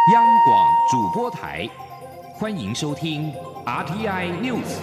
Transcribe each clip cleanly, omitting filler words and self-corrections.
央广主播台，欢迎收听 RTI News。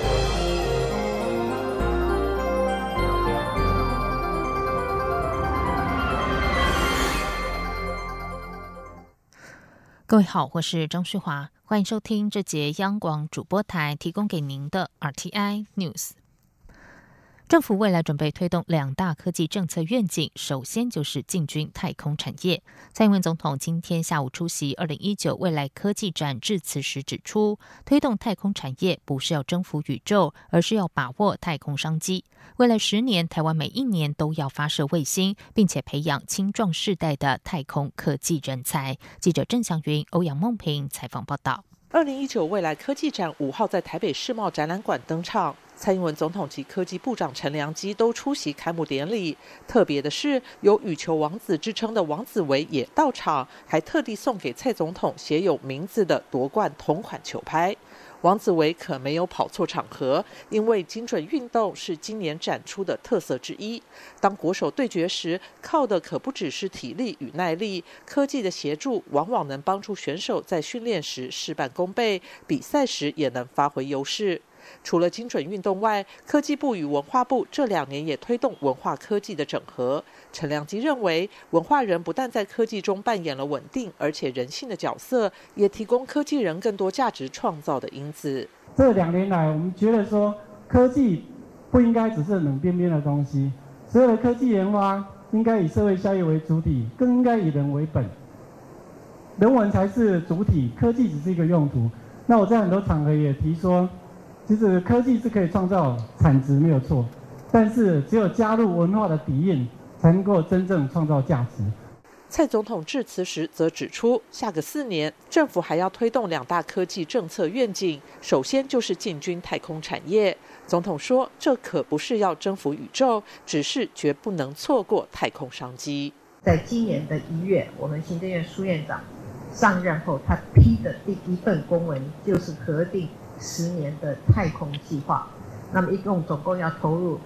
各位好，我是张旭华，欢迎收听这节央广主播台提供给您的 RTI News。政府未来准备推动2大科技政策愿景，首先就是进军太空产业。蔡英文总统今天下午出席2019未来科技展致辞时指出，推动太空产业不是要征服宇宙，而是要把握太空商机。未来10年，台湾每一年都要发射卫星，并且培养青壮世代的太空科技人才。记者郑祥云、欧阳梦平采访报道。 2019未来科技展5号在台北世贸展览馆登场，蔡英文总统及科技部长陈良基都出席开幕典礼。特别的是，有羽球王子之称的王子维也到场，还特地送给蔡总统写有名字的夺冠同款球拍。王子维可没有跑错场合，因为精准运动是今年展出的特色之一。当国手对决时，靠的可不只是体力与耐力，科技的协助往往能帮助选手在训练时事半功倍，比赛时也能发挥优势。除了精准运动外，科技部与文化部这2年也推动文化科技的整合。陈良基认为，文化人不但在科技中扮演了稳定而且人性的角色，也提供科技人更多价值创造的因子。 这2年来，我们觉得说，科技不应该只是冷冰冰的东西，所有的科技研发应该以社会效益为主体，更应该以人为本，人文才是主体，科技只是一个用途。那我在很多场合也提说，其实科技是可以创造产值没有错，但是只有加入文化的底蕴，才能够真正创造价值。 蔡总统致辞时则指出，下个4年政府还要推动2大科技政策愿景，首先就是进军太空产业。总统说，这可不是要征服宇宙，只是绝不能错过太空商机。 在今年的1月，我们行政院苏院长上任后，他批的第1份公文就是核定10年的太空计划，那么总共要投入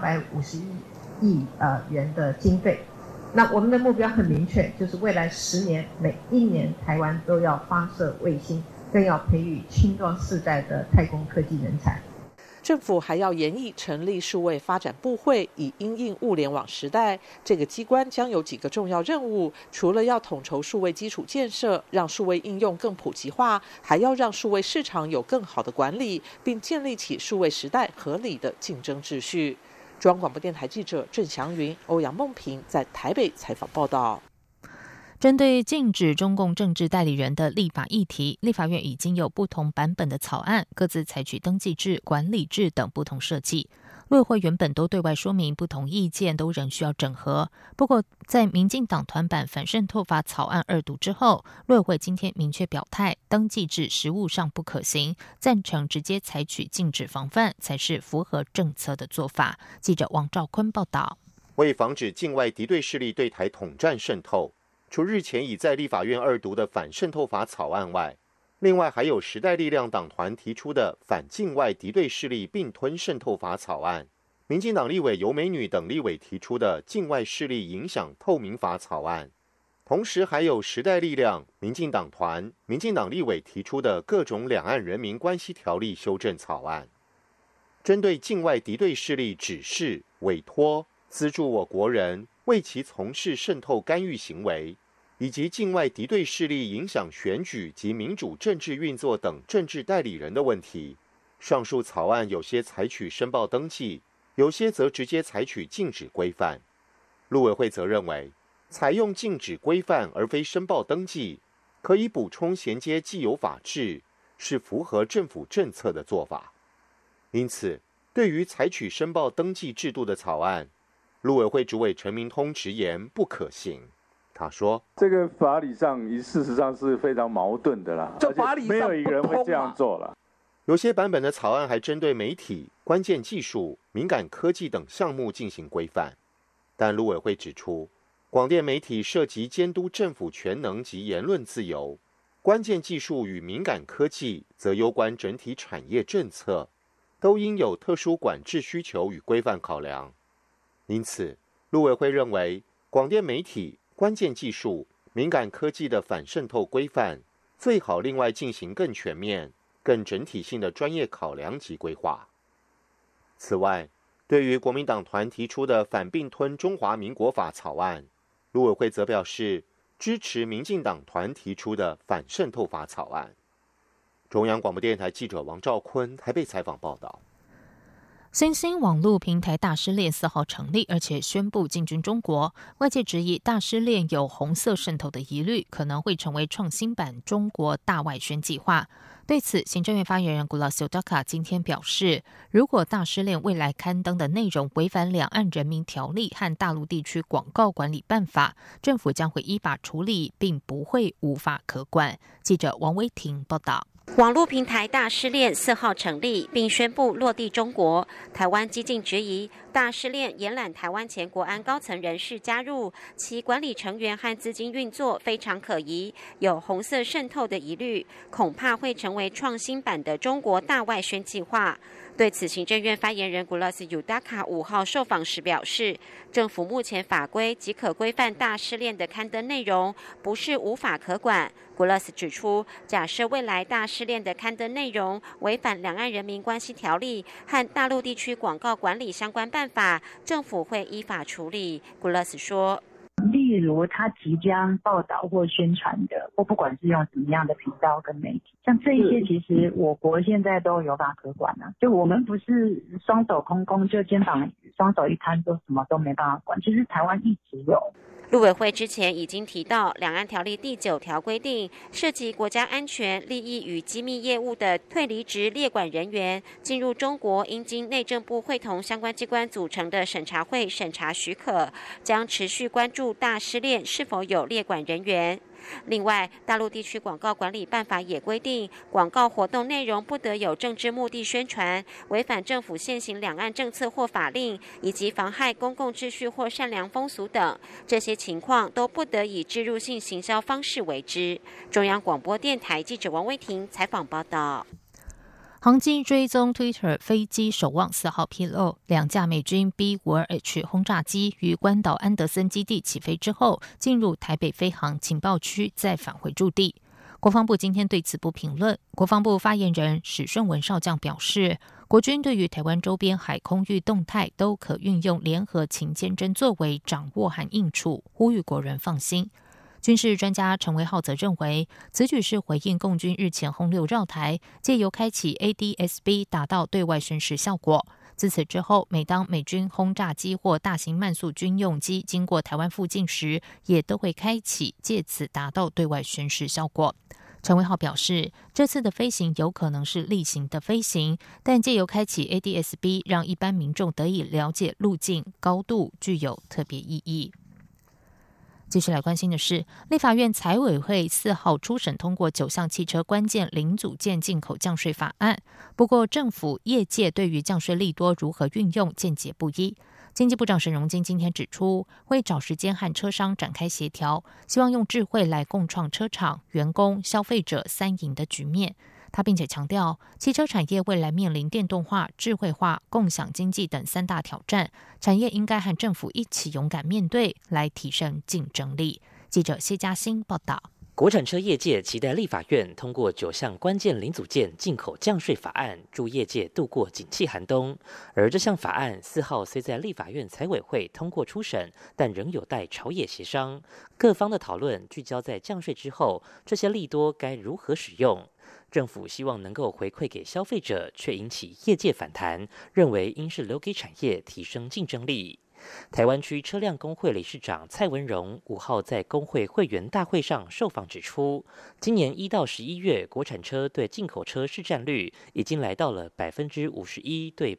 251亿元的经费。那我们的目标很明确，就是未来10年，每一年台湾都要发射卫星，更要培育青壮世代的太空科技人才。 政府还要研议成立数位发展部会，以因应物联网时代。这个机关将有几个重要任务，除了要统筹数位基础建设，让数位应用更普及化，还要让数位市场有更好的管理，并建立起数位时代合理的竞争秩序。中央广播电台记者郑祥云、欧阳梦平在台北采访报道。 针对禁止中共政治代理人的立法议题，立法院已经有不同版本的草案，各自采取登记制、管理制等不同设计。陆委会原本都对外说明不同意见都仍需要整合，不过在民进党团版反渗透法草案2读之后，陆委会今天明确表态，登记制实务上不可行，赞成直接采取禁止防范才是符合政策的做法。记者王兆坤报道。 为防止境外敌对势力对台统战渗透，除日前已在立法院2读的反渗透法草案外，另外还有时代力量党团提出的反境外敌对势力并吞渗透法草案，民进党立委尤美女等立委提出的境外势力影响透明法草案，同时还有时代力量、民进党团、民进党立委提出的各种两岸人民关系条例修正草案，针对境外敌对势力指示、委托、资助我国人为其从事渗透干预行为，以及境外敌对势力影响选举及民主政治运作等政治代理人的问题，上述草案有些采取申报登记，有些则直接采取禁止规范。陆委会则认为，采用禁止规范而非申报登记，可以补充衔接既有法制，是符合政府政策的做法。因此，对于采取申报登记制度的草案，陆委会主委陈明通直言不可行。他说：“ 这个法理上，事实上是非常矛盾的啦， 这法理上没有一个人会这样做了。 有些版本的草案还针对媒体、关键技术、敏感科技等项目进行规范，但陆委会指出，广电媒体涉及监督政府权能及言论自由，关键技术与敏感科技则攸关整体产业政策，都应有特殊管制需求与规范考量。因此，陆委会认为，广电媒体、关键技术、 敏感科技的反渗透规范，最好另外进行更全面、更整体性的专业考量及规划。此外，对于国民党团提出的反并吞中华民国法草案，陆委会则表示支持民进党团提出的反渗透法草案。中央广播电台记者王兆坤台北采访报道。 新兴网络平台大失恋4号成立，而且宣布进军中国。外界质疑大失恋有红色渗透的疑虑，可能会成为创新版中国大外宣计划。对此，行政院发言人古拉修达卡今天表示，如果大失恋未来刊登的内容违反两岸人民条例和大陆地区广告管理办法，政府将会依法处理，并不会无法可管。记者王威婷报道。 网络平台大失恋4号成立，并宣布落地中国。台湾激进质疑大失恋延揽台湾前国安高层人士加入，其管理成员和资金运作非常可疑，有红色渗透的疑虑，恐怕会成为创新版的中国大外宣计划。对此，行政院发言人古拉斯尤达卡5号受访时表示，政府目前法规即可规范大失恋的刊登内容，不是无法可管。古拉斯指出，假设未来大失恋的刊登内容违反两岸人民关系条例和大陆地区广告管理相关办法，政府会依法处理。古拉斯说， 例如他即将报道或宣传的，或不管是用什么样的频道跟媒体，像这一些其实我国现在都有法可管啊，就我们不是双手空空，就肩膀双手一摊就什么都没办法管，其实台湾一直有。 陆委会之前已经提到，两岸条例第9条规定，涉及国家安全、利益与机密业务的退离职列管人员进入中国，应经内政部会同相关机关组成的审查会审查许可，将持续关注大失恋是否有列管人员。另外，大陆地区广告管理办法也规定，广告活动内容不得有政治目的宣传，违反政府现行两岸政策或法令，以及妨害公共秩序或善良风俗等，这些情况都不得以置入性行销方式为之。中央广播电台记者王威婷采访报道。 航机追踪 Twitter 飞机守望4号披露，2架美军 B-52H 轰炸机于关岛安德森基地起飞之后，进入台北飞航情报区，再返回驻地。国防部今天对此不评论。国防部发言人史顺文少将表示，国军对于台湾周边海空域动态都可运用联合勤监侦作为掌握和应处，呼吁国人放心。军事专家陈维浩则认为，此举是回应共军日前轰六绕台，借由开启 ADS-B 达到对外宣示效果。自此之后，每当美军轰炸机或大型慢速军用机经过台湾附近时，也都会开启，借此达到对外宣示效果。陈维浩表示，这次的飞行有可能是例行的飞行，但借由开启 ADS-B， 让一般民众得以了解路径、高度，具有特别意义。继续来关心的是，立法院财委会4号初审通过9项汽车关键零组件进口降税法案。不过，政府业界对于降税利多如何运用见解不一。经济部长沈荣津今天指出，会找时间和车商展开协调，希望用智慧来共创车厂、员工、消费者3赢的局面。他并且强调，汽车产业未来面临电动化、智慧化、共享经济等3大挑战，产业应该和政府一起勇敢面对，来提升竞争力。记者谢嘉欣报道。 国产车业界期待立法院通过9项关键零组件进口降税法案，助业界度过景气寒冬。而这项法案4号虽在立法院财委会通过初审，但仍有待朝野协商。各方的讨论聚焦在降税之后，这些利多该如何使用。政府希望能够回馈给消费者，却引起业界反弹，认为应是留给产业提升竞争力。台湾区车辆工会理事长蔡文荣5号在工会会员大会上受访指出，今年1到11月，国产车对进口车市占率已经来到了51%对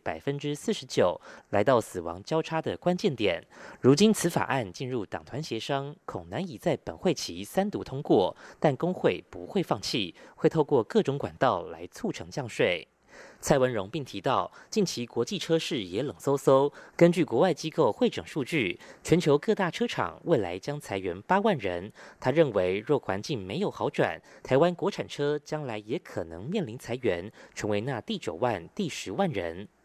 49%，来到死亡交叉的关键点。如今此法案进入党团协商，恐难以在本会期3读通过，但工会不会放弃，会透过各种管道来促成降税。蔡文荣并提到，近期国际车市也冷飕飕。根据国外机构汇整数据，全球各大车厂未来将裁员8万人。他认为，若环境没有好转，台湾国产车将来也可能面临裁员，成为那第9万、第10万人。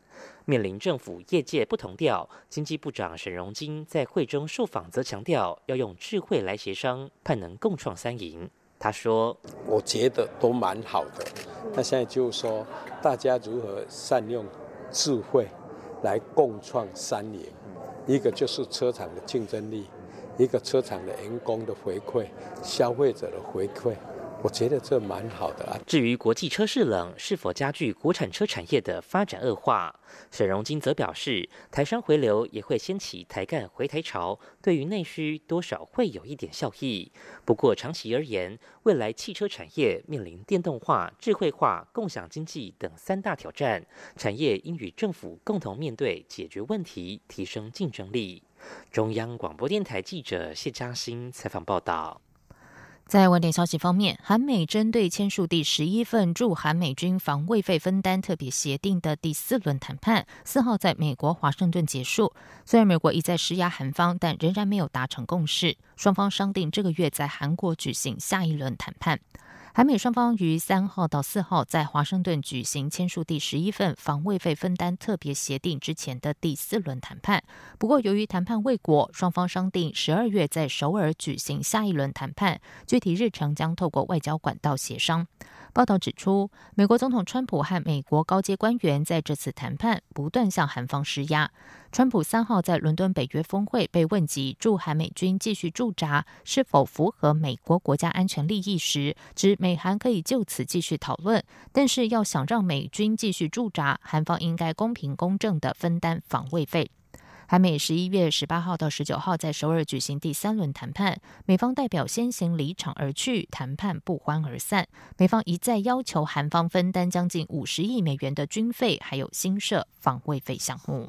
面临政府业界不同调，经济部长沈荣津在会中受访则强调，要用智慧来协商，盼能共创三赢。他说：“ 我觉得都蛮好的，那现在就是说，大家如何善用智慧来共创三赢，一个就是车厂的竞争力，一个车厂的员工的回馈，消费者的回馈。”我觉得这蛮好的啊。 至于国际车市冷是否加剧国产车产业的发展恶化，沈荣津则表示，台商回流也会掀起台干回台潮，对于内需多少会有一点效益。不过长期而言，未来汽车产业面临电动化、智慧化、共享经济等3大挑战，产业应与政府共同面对，解决问题，提升竞争力。中央广播电台记者谢嘉欣采访报道。 在外电消息方面，韩美针对签署第11份驻韩美军防卫费分担特别协定的第4轮谈判4号在美国华盛顿结束。虽然美国一再施压韩方，但仍然没有达成共识，双方商定这个月在韩国举行下一轮谈判。韩美双方于3号到4号在华盛顿举行签署第11份防卫费分担特别协定之前的第4轮谈判。不过，由于谈判未果，双方商定12月在首尔举行下一轮谈判，具体日程将透过外交管道协商。报道指出，美国总统川普和美国高阶官员在这次谈判不断向韩方施压。川普3号在伦敦北约峰会被问及驻韩美军继续驻扎是否符合美国国家安全利益时，指美韩可以就此继续讨论，但是要想让美军继续驻扎，韩方应该公平公正地分担防卫费。韩美11月18号到19号在首尔举行第3轮谈判，美方代表先行离场而去，谈判不欢而散。美方一再要求韩方分担将近50亿美元的军费，还有新设防卫费项目。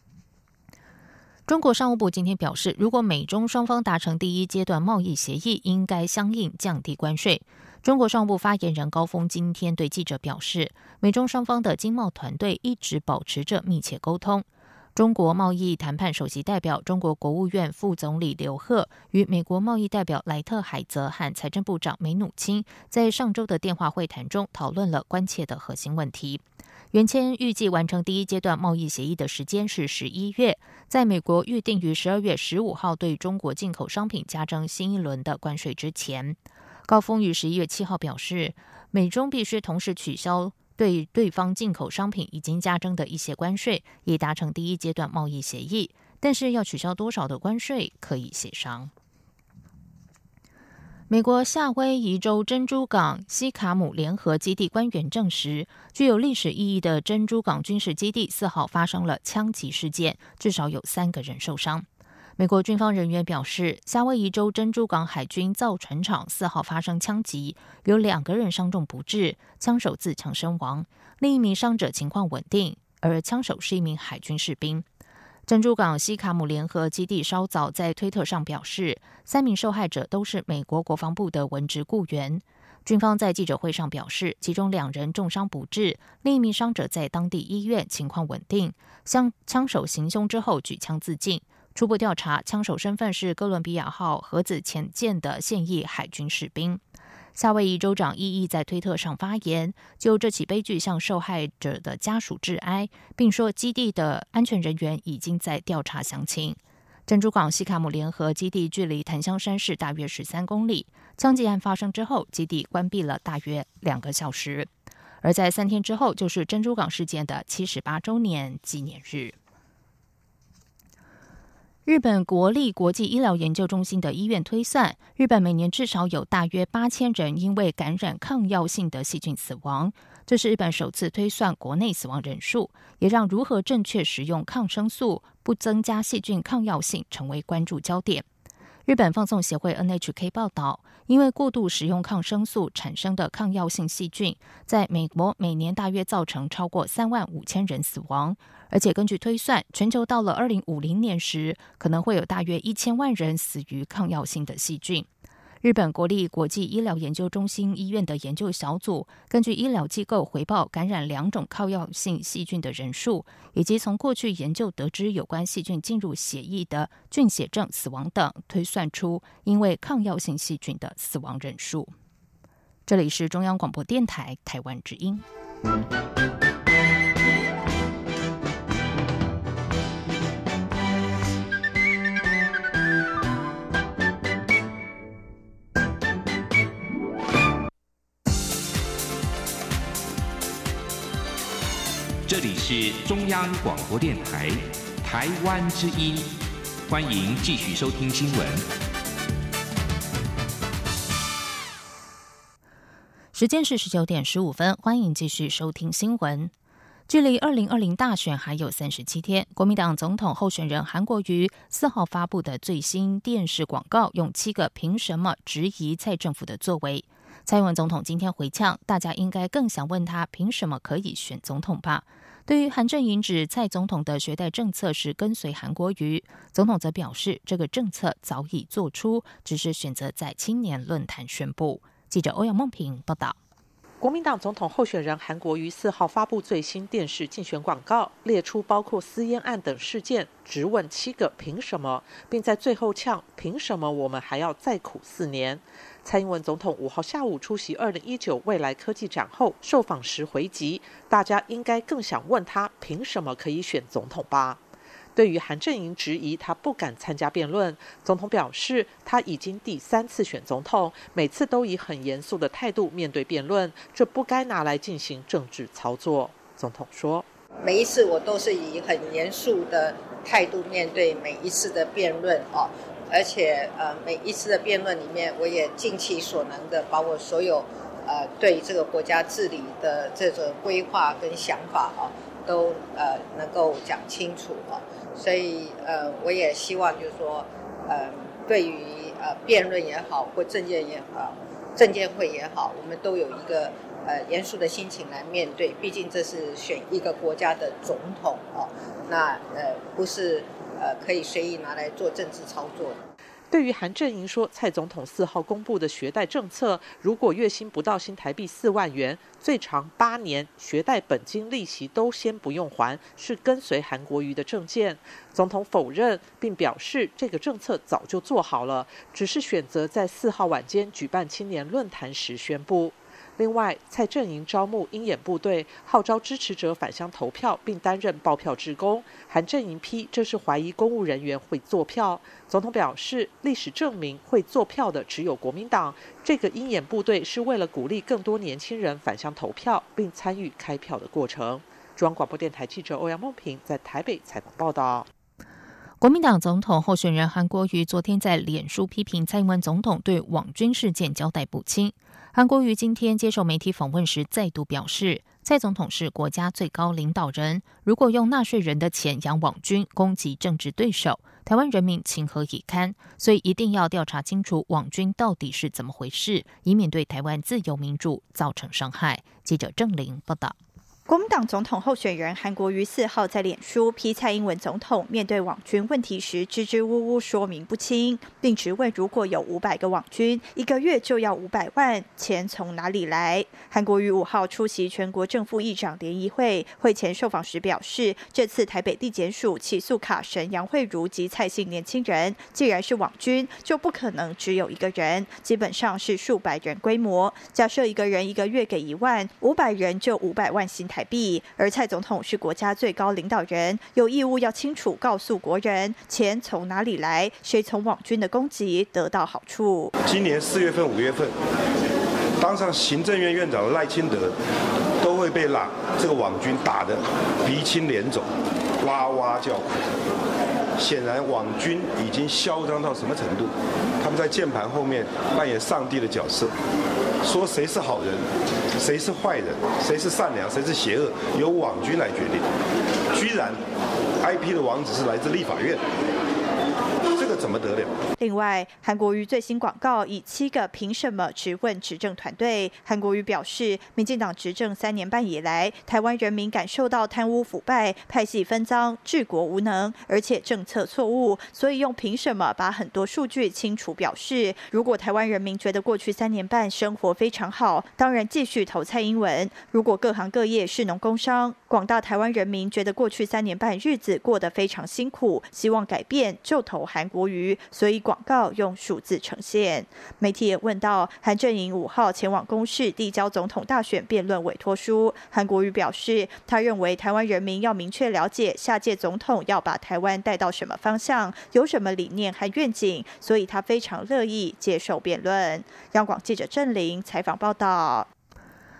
中国商务部今天表示，如果美中双方达成第1阶段贸易协议，应该相应降低关税。中国商务部发言人高峰今天对记者表示，美中双方的经贸团队一直保持着密切沟通。中国贸易谈判首席代表、中国国务院副总理刘鹤与美国贸易代表莱特海泽和财政部长梅努钦在上周的电话会谈中讨论了关切的核心问题。原签预计完成第1阶段贸易协议的时间是11月，在美国预定于12月15号对中国进口商品加征新一轮的关税之前。高峰于11月7号表示，美中必须同时取消对对方进口商品已经加征的一些关税，以达成第1阶段贸易协议，但是要取消多少的关税可以协商。美国夏威夷州珍珠港西卡姆联合基地官员证实，具有历史意义的珍珠港军事基地4号发生了枪击事件，至少有3个人受伤。美国军方人员表示，夏威夷州珍珠港海军造船厂4号发生枪击，有2个人伤重不治，枪手自强身亡，另一名伤者情况稳定，而枪手是一名海军士兵。珍珠港西卡姆联合基地稍早在推特上表示，3名受害者都是美国国防部的文职雇员。军方在记者会上表示，其中2人重伤不治，另一名伤者在当地医院情况稳定。向枪手行凶之后举枪自尽。初步调查，枪手身份是哥伦比亚号核子潜舰的现役海军士兵。夏威夷州长伊伊在推特上发言，就这起悲剧向受害者的家属致哀，并说基地的安全人员已经在调查详情。珍珠港西卡姆联合基地距离檀香山市大约13公里。枪击案发生之后，基地关闭了大约2个小时。而在3天之后，就是珍珠港事件的78周年纪念日。日本国立国际医疗研究中心的医院推算，日本每年至少有大约8000人因为感染抗药性的细菌死亡。这是日本首次推算国内死亡人数，也让如何正确使用抗生素不增加细菌抗药性成为关注焦点。日本放送协会 NHK 报道，因为过度使用抗生素产生的抗药性细菌，在美国每年大约造成超过35000人死亡，而且根据推算，全球到了2050年时，可能会有大约1000万人死于抗药性的细菌。日本国立国际医疗研究中心医院的研究小组根据医疗机构回报感染2种抗药性细菌的人数，以及从过去研究得知有关细菌进入血液的菌血症死亡等，推算出因为抗药性细菌的死亡人数。这里是中央广播电台台湾之音。 这里是中央广播电台台湾之音，欢迎继续收听新闻。 时间是19点15分，欢迎继续收听新闻。距离2020大选还有37天，国民党总统候选人韩国瑜4号发布的最新电视广告，用7个凭什么质疑蔡政府的作为。蔡英文总统今天回呛，大家应该更想问他凭什么可以选总统吧。对于韩正营指蔡总统的学贷政策是跟随韩国瑜，总统则表示这个政策早已做出，只是选择在青年论坛宣布。记者欧阳梦平报道。 国民党总统候选人韩国瑜4号发布最新电视竞选广告，列出包括私烟案等事件，直问7个凭什么，并在最后呛凭什么我们还要再苦4年。蔡英文总统5号下午出席2019未来科技展后受访时回击，大家应该更想问他凭什么可以选总统吧。对于韩正营质疑他不敢参加辩论，总统表示他已经第3次选总统，每次都以很严肃的态度面对辩论，这不该拿来进行政治操作。总统说， 每一次我都是以很严肃的态度面对每一次的辩论而且每一次的辩论里面，我也尽其所能的把我所有对这个国家治理的这种规划跟想法都能够讲清楚所以我也希望就是说对于辩论也好或政见也好政见会也好，我们都有一个严肃的心情来面对，毕竟这是选一个国家的总统那不是可以随意拿来做政治操作的。 对于韩正营说，蔡总统4号公布的学贷政策，如果月薪不到新台币4万元，最长8年，学贷本金利息都先不用还，是跟随韩国瑜的政见。总统否认，并表示这个政策早就做好了，只是选择在4号晚间举办青年论坛时宣布。另外，蔡正营招募鹰眼部队，号召支持者返乡投票，并担任报票志工。韩正营批这是怀疑公务人员会作票。总统表示，历史证明会作票的只有国民党。这个鹰眼部队是为了鼓励更多年轻人返乡投票，并参与开票的过程。中央广播电台记者欧阳梦平在台北采访报道。 国民党总统候选人韩国瑜昨天在脸书批评蔡英文总统对网军事件交代不清。韩国瑜今天接受媒体访问时再度表示，蔡总统是国家最高领导人，如果用纳税人的钱养网军攻击政治对手，台湾人民情何以堪？所以一定要调查清楚网军到底是怎么回事，以免对台湾自由民主造成伤害。记者郑玲报道。 国民党总统候选人韩国瑜4号在脸书批蔡英文总统面对网军问题时支支吾吾说明不清，并质问如果有500个网军，1个月就要500万，钱从哪里来？韩国瑜5号出席全国正副议长联谊会，会前受访时表示，这次台北地检署起诉卡神杨惠如及蔡姓年轻人，既然是网军，就不可能只有1个人，基本上是数百人规模。假设1个人1个月给1万，500人就500万新台币，而蔡总统是国家最高领导人，有义务要清楚告诉国人钱从哪里来，谁从网军的攻击得到好处。 今年4月份、5月份，当上行政院院长的赖清德都会被这个网军打得鼻青脸肿，哇哇叫苦。显然网军已经嚣张到什么程度？他们在键盘后面扮演上帝的角色，说谁是好人，谁是坏人，谁是善良，谁是邪恶，由网军来决定。居然 IP 的网址是来自立法院，这个怎么得了？ 另外，韩国瑜最新广告以7个凭什么质问执政团队。韩国瑜表示，民进党执政3年半以来，台湾人民感受到贪污腐败、派系分赃、治国无能，而且政策错误，所以用凭什么把很多数据清楚表示。如果台湾人民觉得过去3年半生活非常好，当然继续投蔡英文；如果各行各业士农工商，广大台湾人民觉得过去3年半日子过得非常辛苦，希望改变，就投韩国瑜。所以广告用数字呈现。媒体也问到韩正营5号前往公视递交总统大选辩论委托书，韩国瑜表示，他认为台湾人民要明确了解下届总统要把台湾带到什么方向，有什么理念和愿景，所以他非常乐意接受辩论。央广记者郑玲采访报道。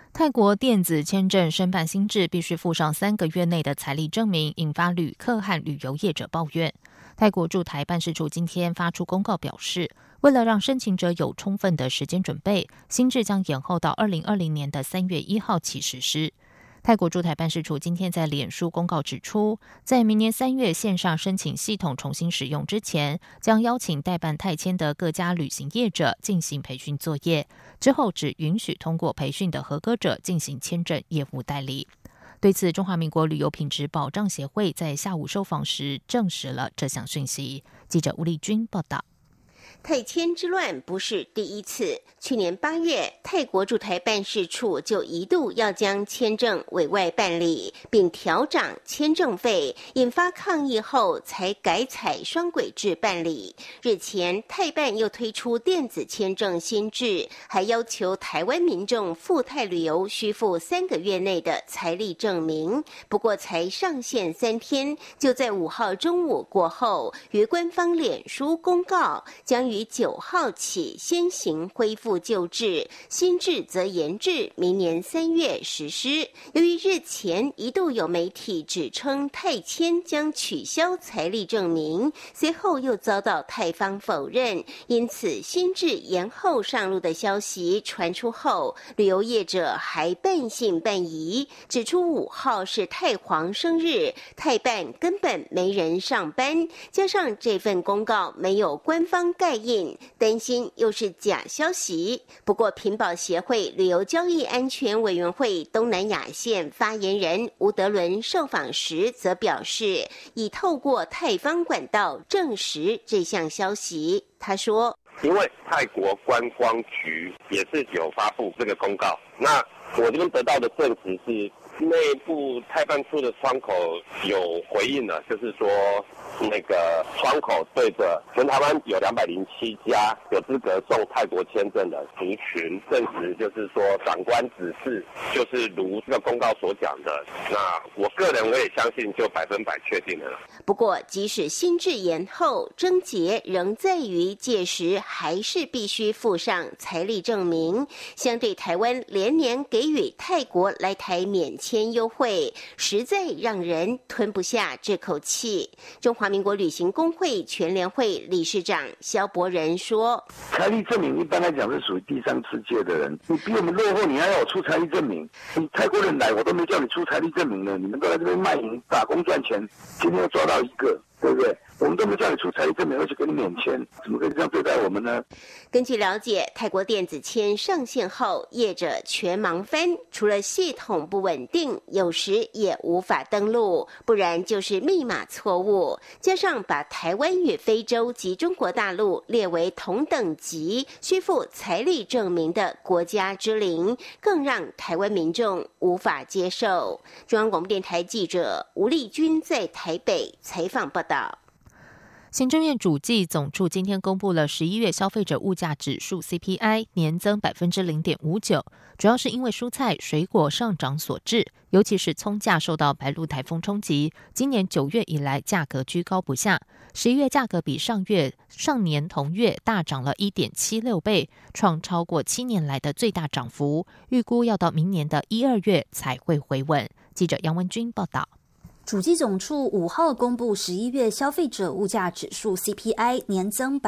泰国电子签证申办新制必须附上3个月内的财力证明，引发旅客和旅游业者抱怨。泰国驻台办事处今天发出公告表示，为了让申请者有充分的时间准备，新制将延后到2020年的3月1号起实施。泰国驻台办事处今天在脸书公告指出，在明年3月线上申请系统重新使用之前，将邀请代办泰签的各家旅行业者进行培训作业，之后只允许通过培训的合格者进行签证业务代理。对此，中华民国旅游品质保障协会在下午受访时证实了这项讯息。记者吴丽君报道。 泰签之乱不是第一次。去年8月，泰国驻台办事处就一度要将签证委外办理，并调涨签证费，引发抗议后才改采双轨制办理。日前，泰办又推出电子签证新制，还要求台湾民众赴泰旅游需附3个月内的财力证明。不过，才上线3天，就在5号中午过后，于官方脸书公告，将于9号起先行恢复旧制，新制则延至明年3月实施。由于日前一度有媒体指称泰签将取消财力证明，随后又遭到泰方否认，因此新制延后上路的消息传出后，旅游业者还半信半疑，指出5号是泰皇生日，泰办根本没人上班，加上这份公告没有官方盖印，担心又是假消息。不过，屏保协会旅游交易安全委员会东南亚线发言人吴德伦受访时则表示，已透过泰方管道证实这项消息。他说， 因为泰国观光局也是有发布这个公告，那我这边得到的证实是内部泰办处的窗口有回应了，就是说那个窗口对着全台湾有207家有资格送泰国签证的族群，证实就是说长官指示就是如这个公告所讲的，那我个人我也相信就100%确定了。 不过，即使新制延后，症结仍在于届时还是必须附上财力证明。相对台湾连年给予泰国来台免签优惠，实在让人吞不下这口气。中华民国旅行工会全联会理事长萧伯仁说， 财力证明一般来讲是属于第3世界的人，你比我们落后，你还要我出财力证明？你泰国人来我都没叫你出财力证明呢，你们都在这边卖淫打工赚钱，今天又抓到一个，对不对？我们都没叫你出财力证明，而且给你免签，怎么可以这样对待我们呢？ 根据了解，泰国电子签上线后，业者全忙翻，除了系统不稳定，有时也无法登录，不然就是密码错误，加上把台湾与非洲及中国大陆列为同等级需附财力证明的国家之邻，更让台湾民众无法接受。中央广播电台记者吴丽君在台北采访报道。 行政院主计总处今天公布了11月消费者物价指数 CPI 年增 0.59%， 主要是因为蔬菜、水果上涨所致，尤其是葱价受到白鹿台风冲击，今年9月以来价格居高不下，11月价格比上年同月大涨了 1.76 倍，创超过7年来的最大涨幅，预估要到明年的1、2月才会回稳。记者杨文君报道。 主计总处5号公布11月消费者物价指数 CPI 年增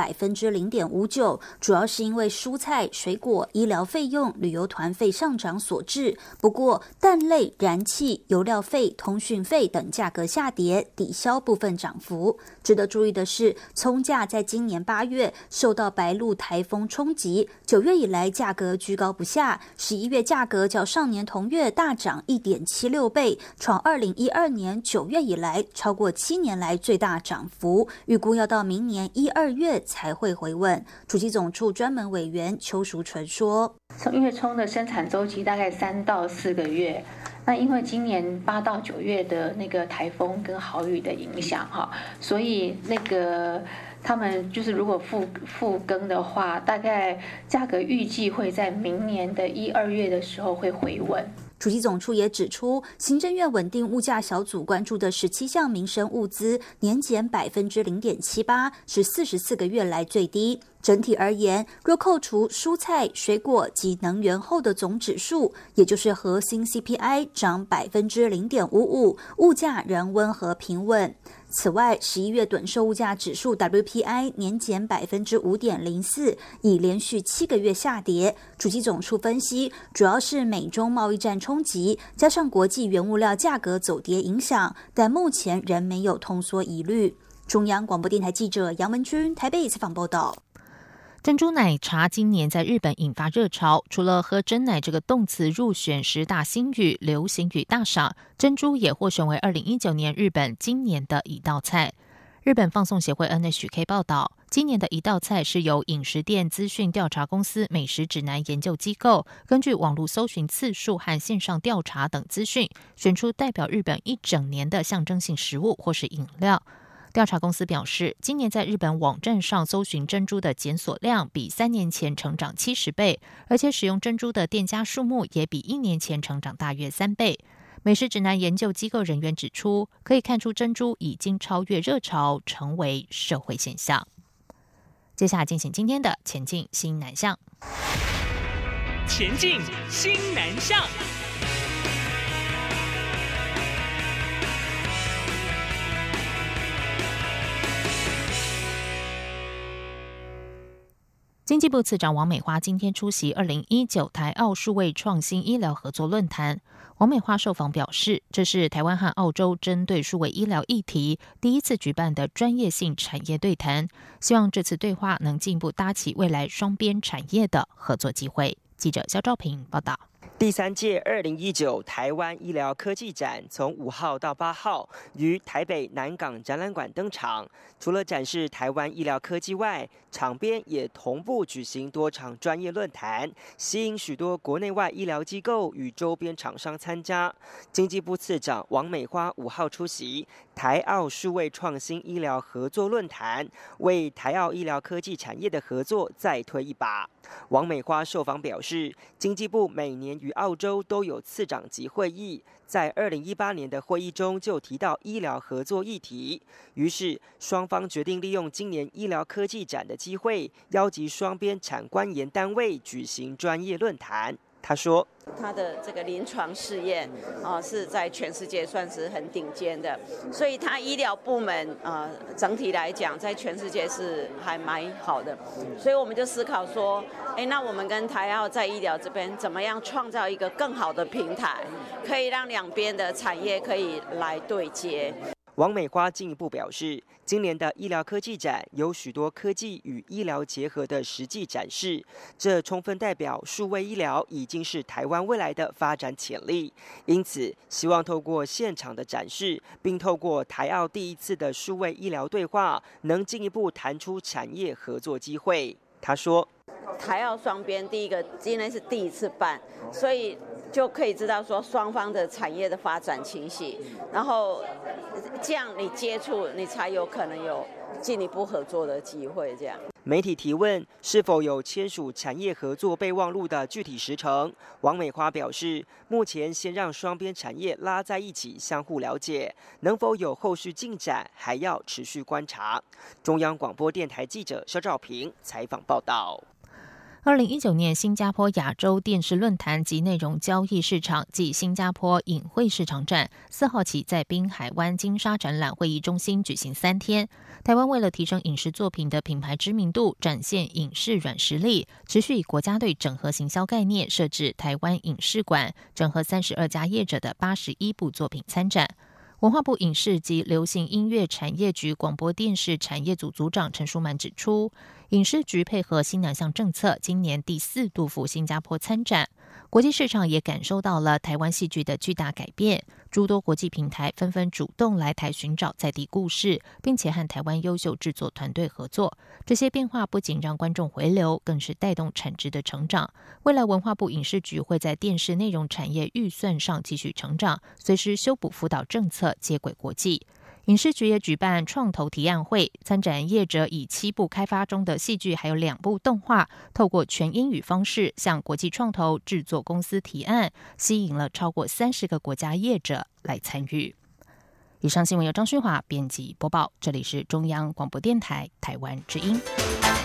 0.59%， 主要是因为蔬菜、水果、医疗费用、旅游团费上涨所致。不过，蛋类、燃气、油料费、通讯费等价格下跌，抵消部分涨幅。值得注意的是，葱价在今年8月受到白鹿台风冲击，9月以来价格居高不下，11月价格较上年同月大涨 1.76 倍，创2012年9月以来超过7年来最大涨幅，预估要到明年1、2月才会回稳。主计总处专门委员邱淑纯说， 因为葱的生产周期大概3到4个月，那因为今年8到9月的那个台风跟豪雨的影响所以那个他们就是如果复耕的话，大概价格预计会在明年的1、2月的时候会回稳。 主计总处也指出，行政院稳定物价小组关注的17项民生物资年减0.78%，是44个月来最低。整体而言，若扣除蔬菜、水果及能源后的总指数，也就是核心 CPI 涨0.55%，物价仍温和平稳。此外，11月趸售物价指数 WPI 年减5.04%，已连续7个月下跌。主计总处分析，主要是美中贸易战冲击，加上国际原物料价格走跌影响，但目前仍没有通缩疑虑。中央广播电台记者杨文君台北采访报道。 珍珠奶茶今年在日本引发热潮，除了喝珍奶这个动词入选10大新语、流行语大赏，珍珠也获选为2019年日本今年的一道菜。日本放送协会 NHK 报道，今年的一道菜是由饮食店资讯调查公司美食指南研究机构根据网络搜寻次数和线上调查等资讯，选出代表日本一整年的象征性食物或是饮料。调查公司表示，今年在日本网站上搜寻珍珠的检索量比3年前成长70倍，而且使用珍珠的店家数目也比1年前成长大约3倍。美食指南研究机构人员指出，可以看出珍珠已经超越热潮，成为社会现象。接下来进行今天的前进新南向。 前进新南向。 经济部次长王美花今天出席2019台澳数位创新医疗合作论坛。王美花受访表示，这是台湾和澳洲针对数位医疗议题第一次举办的专业性产业对谈，希望这次对话能进一步搭起未来双边产业的合作机会。记者肖兆平报道。 第3届2019台湾医疗科技展从5号到8号于台北南港展览馆登场。除了展示台湾医疗科技外，场边也同步举行多场专业论坛，吸引许多国内外医疗机构与周边厂商参加。经济部次长王美花5号出席台澳数位创新医疗合作论坛，为台澳医疗科技产业的合作再推一把。王美花受访表示，经济部每年与澳洲都有次长级会议，在2018年的会议中就提到医疗合作议题，于是双方决定利用今年医疗科技展的机会，邀集双边产官研单位举行专业论坛。他说， 他的这个临床试验是在全世界算是很顶尖的，所以他医疗部门整体来讲在全世界是还蛮好的，所以我们就思考说，那我们跟台澳在医疗这边怎么样创造一个更好的平台，可以让两边的产业可以来对接。 王美花进一步表示，今年的医疗科技展有许多科技与医疗结合的实际展示，这充分代表数位医疗已经是台湾未来的发展潜力。因此，希望透过现场的展示，并透过台澳第一次的数位医疗对话，能进一步谈出产业合作机会。他说， 台澳双边今年是第一次办，所以就可以知道说双方的产业的发展情形，然后这样你接触，你才有可能有进一步合作的机会。这样。 媒体提问是否有签署产业合作备忘录的具体时程，王美花表示，目前先让双边产业拉在一起，相互了解，能否有后续进展，还要持续观察。中央广播电台记者肖兆平采访报道。 2019年新加坡亚洲电视论坛及内容交易市场暨新加坡影汇市场展4号起在滨海湾金沙展览会议中心举行3天。台湾为了提升影视作品的品牌知名度，展现影视软实力，持续以国家队整合行销概念设置台湾影视馆，整合32家业者的81部作品参展。文化部影视及流行音乐产业局广播电视产业组组长陈淑满指出，影视局配合新南向政策，今年第4度赴新加坡参展，国际市场也感受到了台湾戏剧的巨大改变，诸多国际平台纷纷主动来台寻找在地故事，并且和台湾优秀制作团队合作。这些变化不仅让观众回流，更是带动产值的成长。未来文化部影视局会在电视内容产业预算上继续成长，随时修补辅导政策，接轨国际。 影视局也举办创投提案会，参展业者以7部开发中的戏剧还有2部动画，透过全英语方式向国际创投制作公司提案，吸引了超过30个国家业者来参与。以上新闻由张勋华编辑播报，这里是中央广播电台台湾之音。